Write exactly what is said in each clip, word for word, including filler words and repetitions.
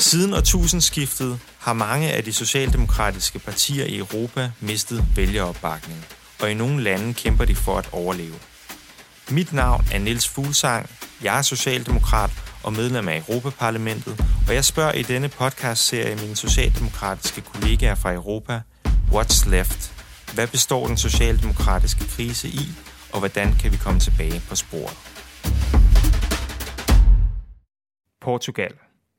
Siden årtusindskiftet har mange af de socialdemokratiske partier i Europa mistet vælgeropbakning, og i nogle lande kæmper de for at overleve. Mit navn er Niels Fuglsang, jeg er socialdemokrat og medlem af Europaparlamentet, og jeg spørger i denne podcastserie mine socialdemokratiske kollegaer fra Europa, What's left? Hvad består den socialdemokratiske krise i, og hvordan kan vi komme tilbage på sporet? Portugal.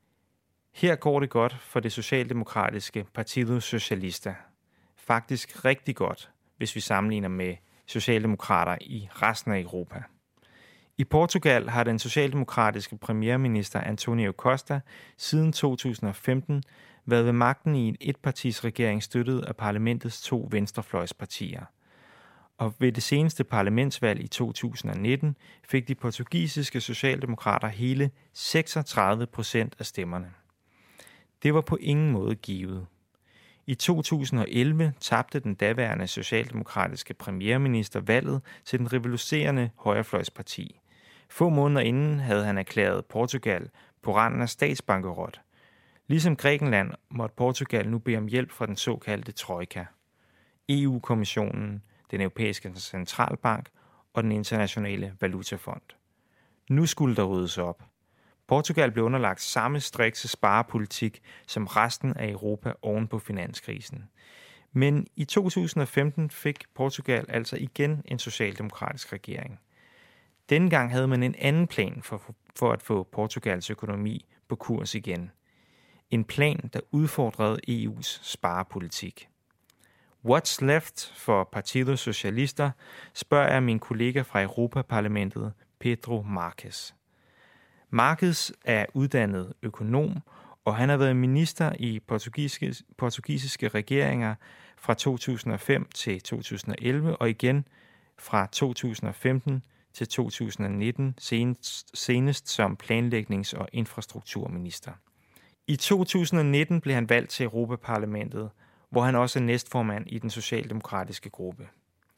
Her går det godt for det socialdemokratiske Partido Socialista. Faktisk rigtig godt, hvis vi sammenligner med socialdemokrater i resten af Europa. I Portugal har den socialdemokratiske premierminister Antonio Costa siden to tusind og femten været ved magten i en etpartisregering støttet af parlamentets to venstrefløjspartier. Og ved det seneste parlamentsvalg i to tusind og nitten fik de portugisiske socialdemokrater hele seksogtredive procent af stemmerne. Det var på ingen måde givet. I to tusind og elleve tabte den daværende socialdemokratiske premierminister valget til den revolutionerende højrefløjsparti. Få måneder inden havde han erklæret Portugal på randen af statsbankerot. Ligesom Grækenland måtte Portugal nu bede om hjælp fra den såkaldte trojka. E U-kommissionen, den europæiske centralbank og den internationale valutafond. Nu skulle der ryddes op. Portugal blev underlagt samme strikse sparepolitik som resten af Europa oven på finanskrisen. Men i to tusind og femten fik Portugal altså igen en socialdemokratisk regering. Denne gang havde man en anden plan for, for at få Portugals økonomi på kurs igen. En plan, der udfordrede E U's sparepolitik. What's left for Partido Socialista, spørger jeg min kollega fra Europaparlamentet, Pedro Marques. Marques er uddannet økonom, og han har været minister i portugisiske, portugisiske regeringer fra to tusind og fem til to tusind og elleve, og igen fra to tusind og femten til to tusind og nitten, senest, senest som planlægnings- og infrastrukturminister. I to tusind og nitten blev han valgt til Europaparlamentet, hvor han også er næstformand i den socialdemokratiske gruppe.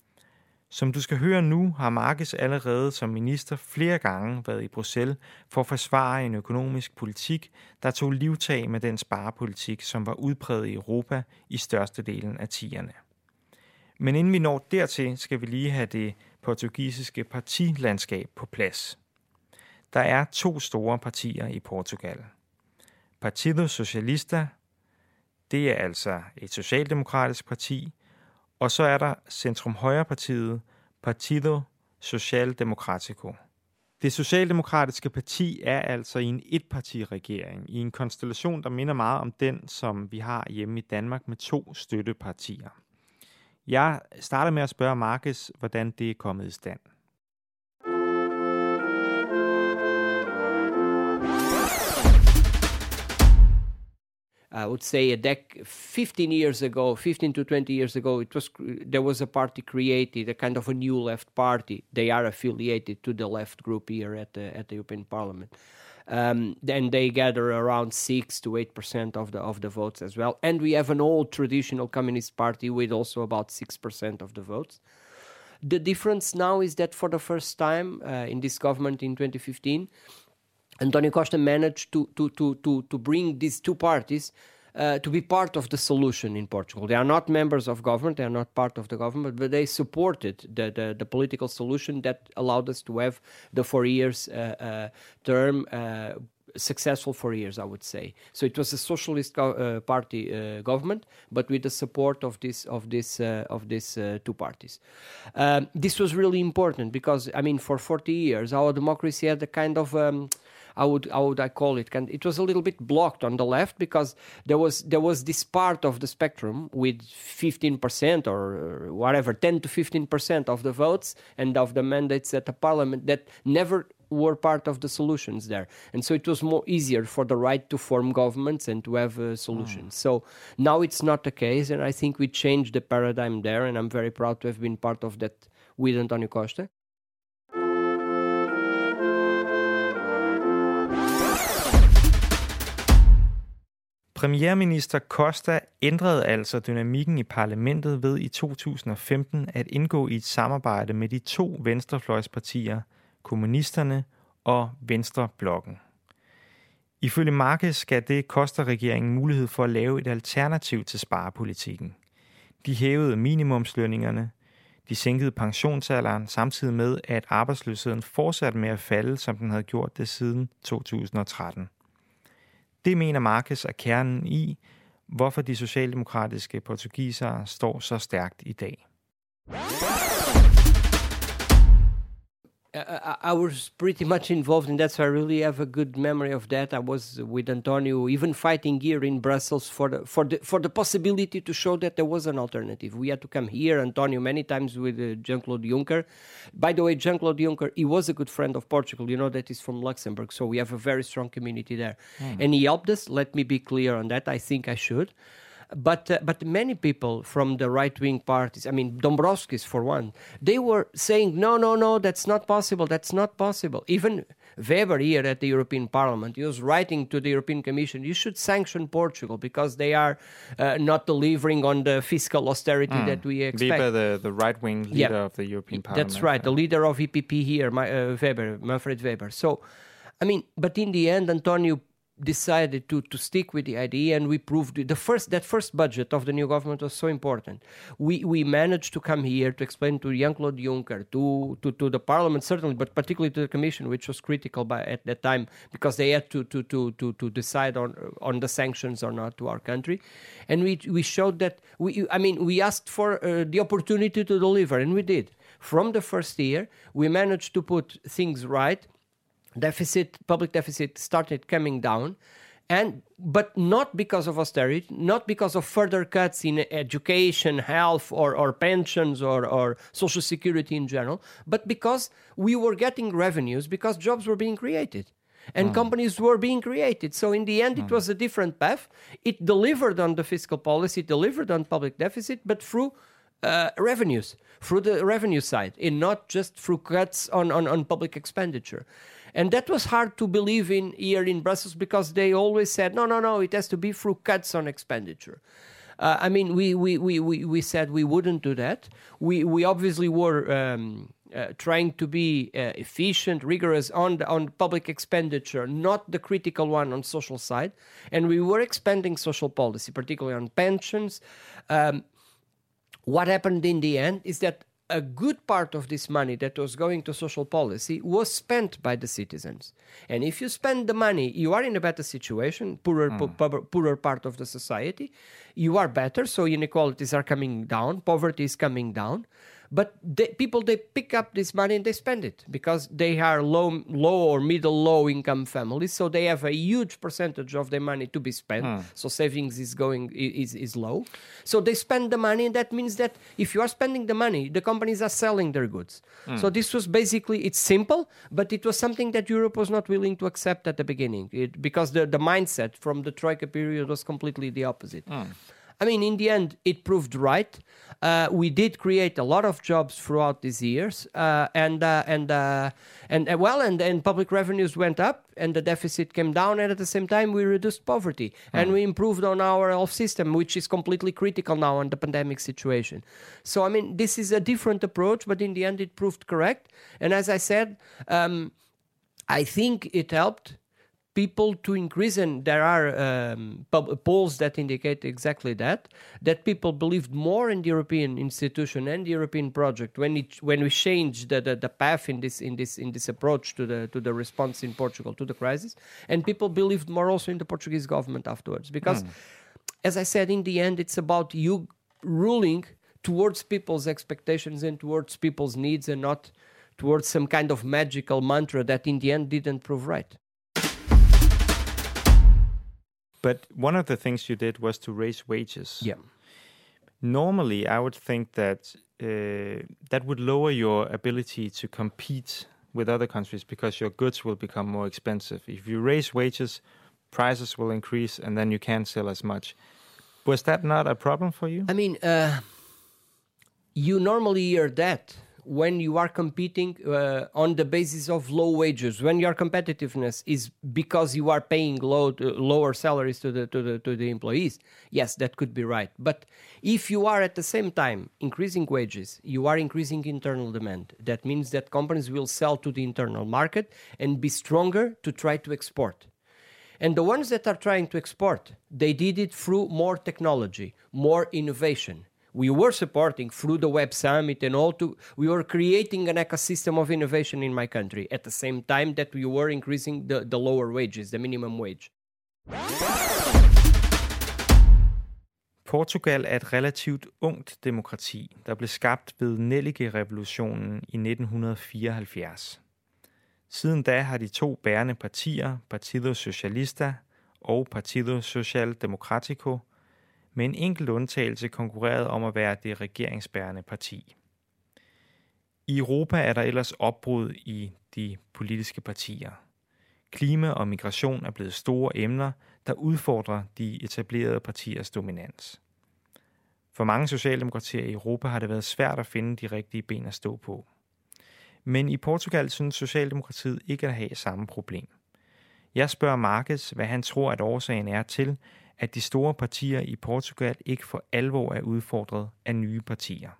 Som du skal høre nu, har Marques allerede som minister flere gange været i Bruxelles for at forsvare en økonomisk politik, der tog livtag med den sparepolitik, som var udpræget i Europa i størstedelen af tierne. Men inden vi når dertil, skal vi lige have det portugisiske partilandskab på plads. Der er to store partier i Portugal. Partido Socialista, det er altså et socialdemokratisk parti, og så er der centrum-højre-partiet Partido Social Democrático. Det socialdemokratiske parti er altså i en etpartiregering, i en konstellation, der minder meget om den, som vi har hjemme i Danmark med to støttepartier. Jeg starter med at spørge Marques, hvordan det er kommet i stand. I would say a dec- fifteen years ago, fifteen to twenty years ago, it was there was a party created, a kind of a new left party. They are affiliated to the left group here at the at the European Parliament. Um, then they gather around six to eight percent of the of the votes as well. And we have an old traditional communist party with also about six percent of the votes. The difference now is that for the first time uh, in this government in twenty fifteen, Antonio Costa managed to to to to to bring these two parties uh, to be part of the solution in Portugal. They are not members of government; they are not part of the government, but they supported the the, the political solution that allowed us to have the four years uh, uh, term. Uh, successful four years, I would say. So it was a socialist go- uh, party uh, government, but with the support of this of this uh, of these uh, two parties. Um, this was really important because, I mean, for forty years, our democracy had a kind of um, I would how would I call it? It was a little bit blocked on the left because there was there was this part of the spectrum with fifteen percent or whatever, ten to fifteen percent of the votes and of the mandates at the parliament that never were part of the solutions there. And so it was more easier for the right to form governments and to have uh, solutions. Mm. So now it's not the case, and I think we changed the paradigm there, and I'm very proud to have been part of that with Antonio Costa. Premierminister Costa ændrede altså dynamikken i parlamentet ved i to tusind og femten at indgå i et samarbejde med de to venstrefløjspartier, kommunisterne og Venstreblokken. Ifølge Marquez skal det koste regeringen mulighed for at lave et alternativ til sparepolitikken. De hævede minimumslønningerne, de sænkede pensionsalderen, samtidig med, at arbejdsløsheden fortsatte med at falde, som den havde gjort det siden to tusind og tretten. Det mener Marquez er kernen i, hvorfor de socialdemokratiske portugisere står så stærkt i dag. I was pretty much involved in that, so I really have a good memory of that. I was with Antonio, even fighting here in Brussels for the for the for the possibility to show that there was an alternative. We had to come here, Antonio, many times with uh, Jean-Claude Juncker. By the way, Jean-Claude Juncker, he was a good friend of Portugal. You know that he's from Luxembourg, so we have a very strong community there, mm. and he helped us. Let me be clear on that. I think I should. But uh, but many people from the right-wing parties, I mean, Dombrovskis for one, they were saying, no, no, no, that's not possible, that's not possible. Even Weber here at the European Parliament, he was writing to the European Commission, you should sanction Portugal because they are uh, not delivering on the fiscal austerity mm. that we expect. Weber, the, the right-wing leader yeah. of the European Parliament. That's right, the leader of E P P here, my, uh, Weber, Manfred Weber. So, I mean, but in the end, Antonio decided to to stick with the idea, and we proved it. The first that first budget of the new government was so important. We we managed to come here to explain to Jean-Claude Juncker, to, to to the Parliament certainly, but particularly to the Commission, which was critical by at that time because they had to to to to, to decide on on the sanctions or not to our country, and we we showed that we I mean we asked for uh, the opportunity to deliver, and we did. From the first year, we managed to put things right. Deficit, public deficit started coming down, and but not because of austerity, not because of further cuts in education, health, or, or pensions, or, or social security in general, but because we were getting revenues, because jobs were being created, and mm. companies were being created. So in the end, mm. it was a different path. It delivered on the fiscal policy, it delivered on public deficit, but through uh, revenues, through the revenue side, and not just through cuts on, on, on public expenditure. And that was hard to believe in here in Brussels because they always said, no, no, no, it has to be through cuts on expenditure. Uh, I mean, we, we, we, we, we said we wouldn't do that. We, we obviously were um, uh, trying to be uh, efficient, rigorous on, the, on public expenditure, not the critical one on social side. And we were expanding social policy, particularly on pensions. Um, what happened in the end is that a good part of this money that was going to social policy was spent by the citizens. And if you spend the money, you are in a better situation, poorer, mm. po- poorer part of the society. You are better, so inequalities are coming down, poverty is coming down. But they, people, they pick up this money and they spend it because they are low, low or middle low income families. So they have a huge percentage of their money to be spent. Mm. So savings is going is, is low. So they spend the money, and that means that if you are spending the money, the companies are selling their goods. Mm. So this was basically, it's simple, but it was something that Europe was not willing to accept at the beginning it, because the, the mindset from the Troika period was completely the opposite. Mm. I mean, in the end, it proved right. Uh, we did create a lot of jobs throughout these years, uh, and uh, and uh, and uh, well, and, and public revenues went up, and the deficit came down, and at the same time, we reduced poverty, mm. and we improved on our health system, which is completely critical now in the pandemic situation. So, I mean, this is a different approach, but in the end, it proved correct. And as I said, um, I think it helped people to increase, and there are um, polls that indicate exactly that, that people believed more in the European institution and the European project when it when we changed the, the, the path in this in this in this approach to the to the response in Portugal to the crisis, and people believed more also in the Portuguese government afterwards, because, mm. as I said, in the end, it's about you ruling towards people's expectations and towards people's needs, and not towards some kind of magical mantra that in the end didn't prove right. But one of the things you did was to raise wages. Yeah. Normally, I would think that uh, that would lower your ability to compete with other countries because your goods will become more expensive. If you raise wages, prices will increase, and then you can't sell as much. Was that not a problem for you? I mean, uh, you normally hear that when you are competing uh, on the basis of low wages, when your competitiveness is because you are paying low, uh, lower salaries to the, to the to the employees, yes, that could be right. But if you are at the same time increasing wages, you are increasing internal demand. That means that companies will sell to the internal market and be stronger to try to export. And the ones that are trying to export, they did it through more technology, more innovation. We were supporting through the Web Summit and all to, we were creating an ecosystem of innovation in my country at the same time that we were increasing the, the lower wages, the minimum wage. Portugal er et relativt ungt demokrati, der blev skabt ved Nellike-revolutionen i nitten fireoghalvfjerds. Siden da har de to bærende partier, Partido Socialista og Partido Social Democrático, med en enkelt undtagelse konkurreret om at være det regeringsbærende parti. I Europa er der ellers opbrud i de politiske partier. Klima og migration er blevet store emner, der udfordrer de etablerede partiers dominans. For mange socialdemokratier i Europa har det været svært at finde de rigtige ben at stå på. Men i Portugal synes Socialdemokratiet ikke at have samme problem. Jeg spørger Marques, hvad han tror, at årsagen er til, at de store partier i Portugal ikke for alvor er udfordret af nye partier.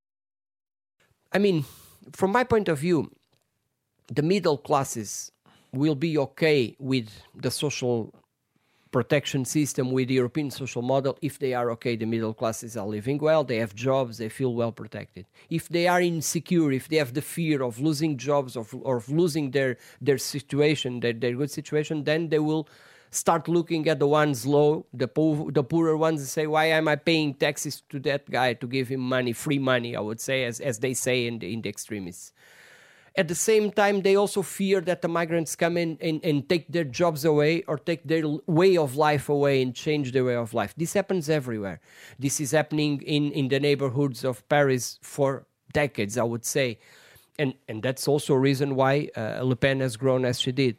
I mean, from my point of view, the middle classes will be okay with the social protection system, with the European social model, if they are okay. The middle classes are living well, they have jobs, they feel well protected. If they are insecure, if they have the fear of losing jobs or of losing their, their situation, their, their good situation, then they will start looking at the ones low, the poor, the poorer ones, and say, why am I paying taxes to that guy to give him money, free money, I would say, as, as they say in the, in the extremists. At the same time, they also fear that the migrants come in and, and take their jobs away or take their way of life away and change their way of life. This happens everywhere. This is happening in, in the neighborhoods of Paris for decades, I would say. And, and that's also a reason why uh, Le Pen has grown as she did.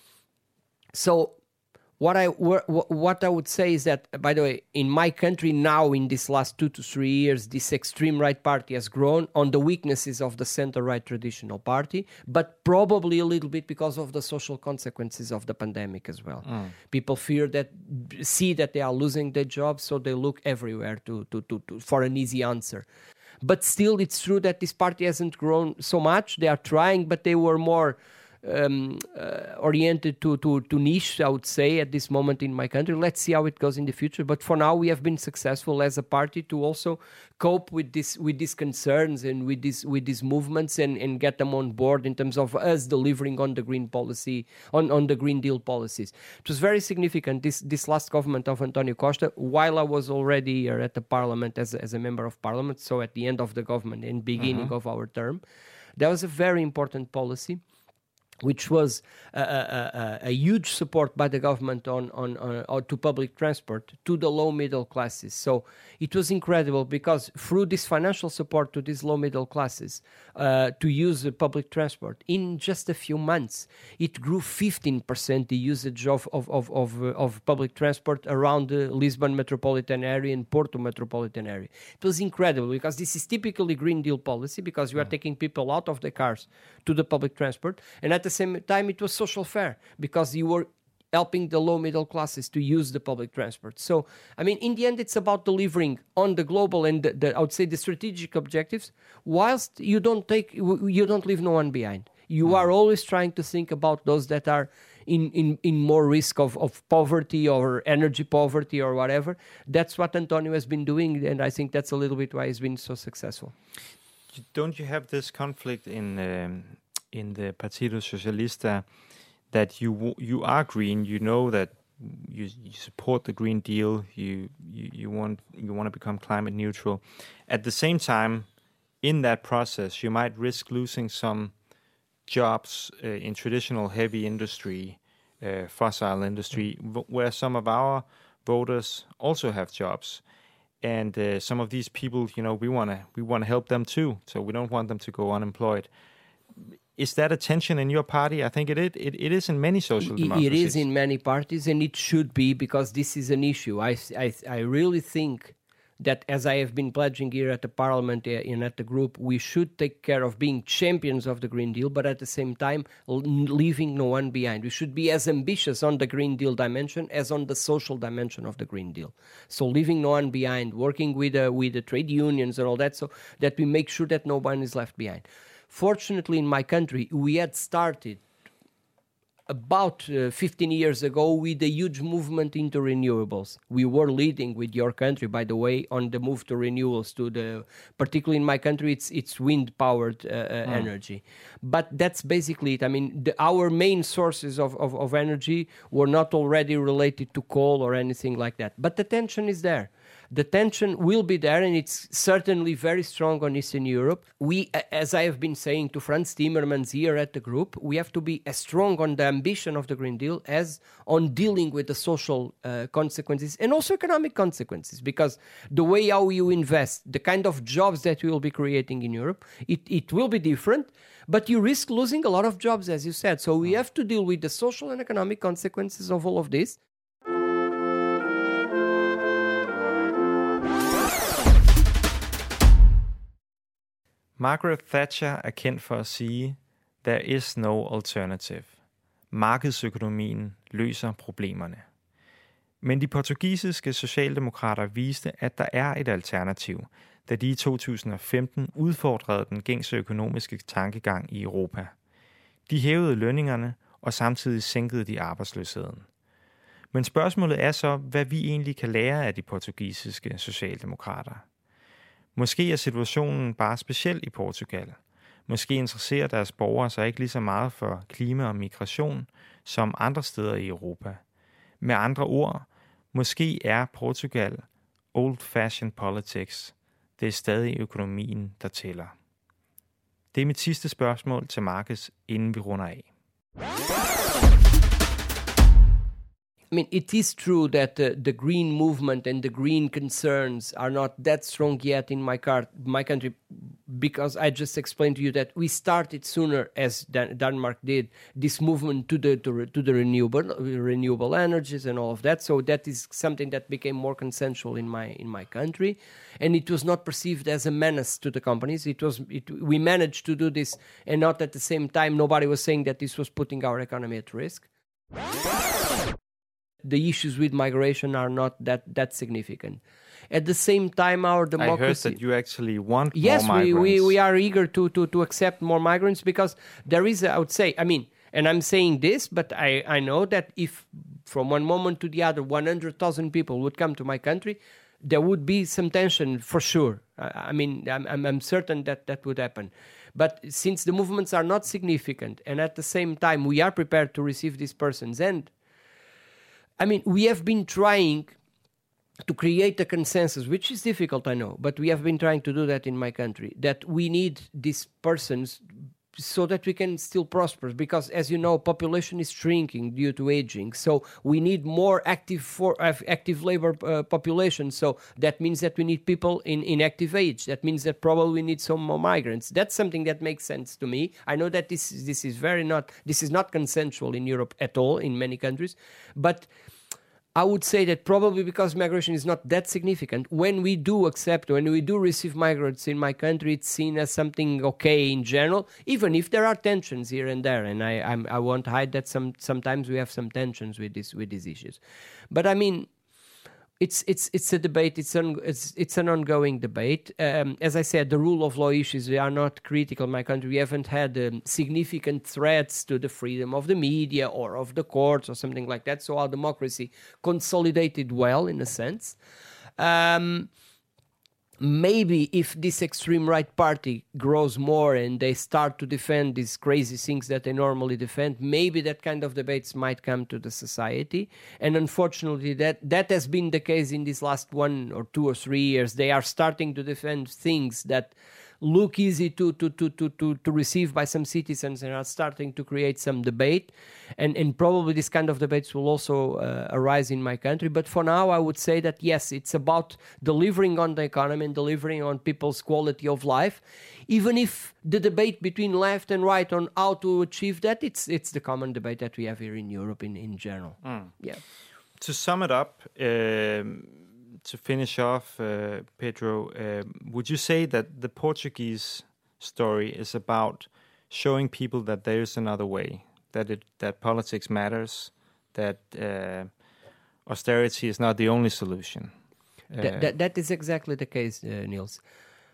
So what I, what I would say is that, by the way, in my country now, in these last two to three years, this extreme right party has grown on the weaknesses of the center-right traditional party, but probably a little bit because of the social consequences of the pandemic as well. Mm. People fear that, see that they are losing their jobs, so they look everywhere to, to, to, to for an easy answer. But still, it's true that this party hasn't grown so much. They are trying, but they were more Um, uh, oriented to, to, to niche, I would say, at this moment in my country. Let's see how it goes in the future. But for now, we have been successful as a party to also cope with this with these concerns and with this with these movements and, and get them on board in terms of us delivering on the green policy, on, on the Green Deal policies. It was very significant, this this last government of António Costa, while I was already here at the parliament as a, as a member of parliament, so at the end of the government and beginning mm-hmm. of our term, there was a very important policy which was a, a, a huge support by the government on, on, on, on to public transport, to the low middle classes. So it was incredible because through this financial support to these low middle classes uh, to use the public transport, in just a few months, it grew fifteen percent the usage of, of, of, of, uh, of public transport around the Lisbon metropolitan area and Porto metropolitan area. It was incredible because this is typically Green Deal policy because you are taking people out of the cars to the public transport, and at the same time it was social fair because you were helping the low middle classes to use the public transport. So, I mean, in the end, it's about delivering on the global and the, the, I would say the strategic objectives, whilst you don't take, you don't leave no one behind. You mm. are always trying to think about those that are in, in, in more risk of, of poverty or energy poverty or whatever. That's what António has been doing, and I think that's a little bit why he's been so successful. Don't you have this conflict in um, in the Partido Socialista that you you are green, you know that you, you support the Green Deal, you, you you want you want to become climate neutral. At the same time, in that process, you might risk losing some jobs uh, in traditional heavy industry, uh, fossil industry, w- where some of our voters also have jobs. And uh, some of these people, you know, we want to we want to help them too, so we don't want them to go unemployed. Is that a tension in your party? I think it is. It, it is in many social democracies. It is in many parties, and it should be because this is an issue. I, I, I really think that, as I have been pledging here at the Parliament and at the group, we should take care of being champions of the Green Deal, but at the same time, leaving no one behind. We should be as ambitious on the Green Deal dimension as on the social dimension of the Green Deal. So leaving no one behind, working with, uh, with the trade unions and all that, so that we make sure that no one is left behind. Fortunately, in my country, we had started about uh, fifteen years ago with a huge movement into renewables. We were leading with your country, by the way, on the move to renewables, to the, particularly in my country, it's it's wind-powered uh, uh, mm. energy. But that's basically it. I mean, the, our main sources of, of, of energy were not already related to coal or anything like that. But the tension is there. The tension will be there, and it's certainly very strong on Eastern Europe. We, as I have been saying to Franz Timmermans here at the group, we have to be as strong on the ambition of the Green Deal as on dealing with the social uh, consequences and also economic consequences, because the way how you invest, the kind of jobs that we will be creating in Europe, it, it will be different, but you risk losing a lot of jobs, as you said. So we have to deal with the social and economic consequences of all of this. Margaret Thatcher er kendt for at sige, there is no alternative. Markedsøkonomien løser problemerne. Men de portugisiske socialdemokrater viste, at der er et alternativ, da de i to tusind og femten udfordrede den gængse økonomiske tankegang i Europa. De hævede lønningerne, og samtidig sænkede de arbejdsløsheden. Men spørgsmålet er så, hvad vi egentlig kan lære af de portugisiske socialdemokrater. Måske er situationen bare speciel i Portugal. Måske interesserer deres borgere sig ikke lige så meget for klima og migration som andre steder i Europa. Med andre ord, måske er Portugal old-fashioned politics. Det er stadig økonomien, der tæller. Det er mit sidste spørgsmål til Marcus, inden vi runder af. I mean, it is true that uh, the green movement and the green concerns are not that strong yet in my, car- my country, because I just explained to you that we started sooner, as Dan- Denmark did, this movement to the to, re- to the renewable renewable energies and all of that. So that is something that became more consensual in my in my country, and it was not perceived as a menace to the companies. It was it, we managed to do this, and not at the same time nobody was saying that this was putting our economy at risk. The issues with migration are not that, that significant. At the same time, our democracy... I heard that you actually want yes, more migrants. Yes, we, we, we are eager to, to, to accept more migrants, because there is, a, I would say, I mean, and I'm saying this, but I, I know that if from one moment to the other one hundred thousand people would come to my country, there would be some tension for sure. I, I mean, I'm, I'm, I'm certain that that would happen. But since the movements are not significant, and at the same time we are prepared to receive these persons, and I mean, we have been trying to create a consensus, which is difficult, I know, but we have been trying to do that in my country, that we need these persons so that we can still prosper, because, as you know, population is shrinking due to aging. So we need more active for uh, active labor uh, population. So that means that we need people in, in active age. That means that probably we need some more migrants. That's something that makes sense to me. I know that this this is very not this is not consensual in Europe at all, in many countries, but I would say that probably because migration is not that significant, when we do accept, when we do receive migrants in my country, it's seen as something okay in general, even if there are tensions here and there. And I I'm, I won't hide that some sometimes we have some tensions with this with these issues. But I mean, it's it's it's a debate. It's an it's it's an ongoing debate. Um, as I said, the rule of law issues, they are not critical in my country. We haven't had um, significant threats to the freedom of the media or of the courts or something like that. So our democracy consolidated well, in a sense. Um, maybe if this extreme right party grows more and they start to defend these crazy things that they normally defend, maybe that kind of debates might come to the society. And unfortunately, that, that has been the case in these last one or two or three years. They are starting to defend things that look easy to to to to to, to receive by some citizens, and are starting to create some debate. And, and probably this kind of debates will also uh, arise in my country. But for now, I would say that, yes, it's about delivering on the economy and delivering on people's quality of life. Even if the debate between left and right on how to achieve that, it's it's the common debate that we have here in Europe in, in general. Mm. Yeah. To sum it up, um, to finish off, uh, Pedro, uh, would you say that the Portuguese story is about showing people that there is another way, that it that politics matters, that uh, austerity is not the only solution? Uh, that, that that is exactly the case, uh, Niels.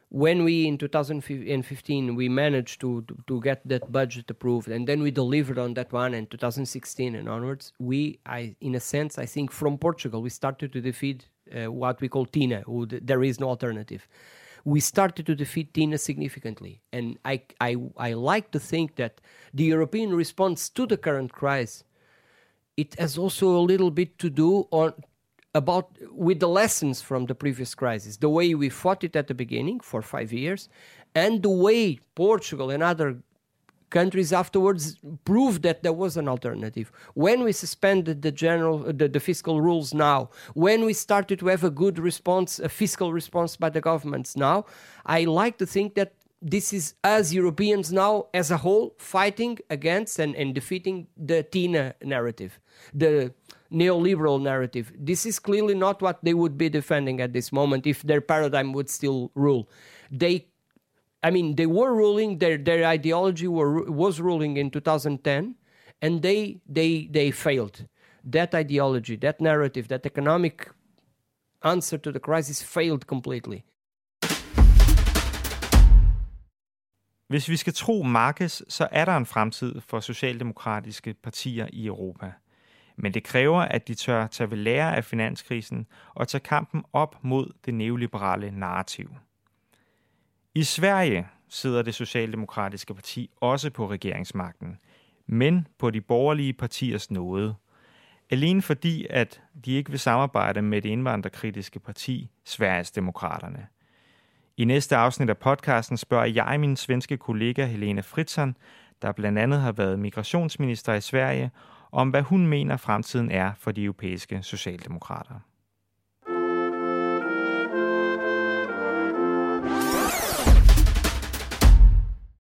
when we, in two thousand fifteen, we managed to, to, to get that budget approved, and then we delivered on that one in two thousand sixteen and onwards, we, I, in a sense, I think from Portugal, we started to defeat uh, what we call TINA, who th- there is no alternative. We started to defeat TINA significantly. And I, I, I like to think that the European response to the current crisis, it has also a little bit to do on about with the lessons from the previous crisis, the way we fought it at the beginning for five years, and the way Portugal and other countries afterwards proved that there was an alternative. When we suspended the general, the, the fiscal rules now, when we started to have a good response, a fiscal response by the governments now, I like to think that this is us Europeans now as a whole fighting against and, and defeating the TINA narrative, the neoliberal narrative. This is clearly not what they would be defending at this moment if their paradigm would still rule. They, I mean, they were ruling, their their ideology were, was ruling in two thousand ten, and they they they failed. That ideology, that narrative, that economic answer to the crisis failed completely. Hvis vi skal tro Marquez, så er der en fremtid for socialdemokratiske partier i Europa. Men det kræver, at de tør tage ved lære af finanskrisen og tage kampen op mod det neoliberale narrativ. I Sverige sidder det socialdemokratiske parti også på regeringsmagten, men på de borgerlige partiers nåde. Alene fordi, at de ikke vil samarbejde med det indvandrerkritiske parti, Sverigesdemokraterne. I næste afsnit af podcasten spørger jeg min svenske kollega Helena Fritzon, der blandt andet har været migrationsminister i Sverige, om hvad hun mener fremtiden er for de europæiske socialdemokrater.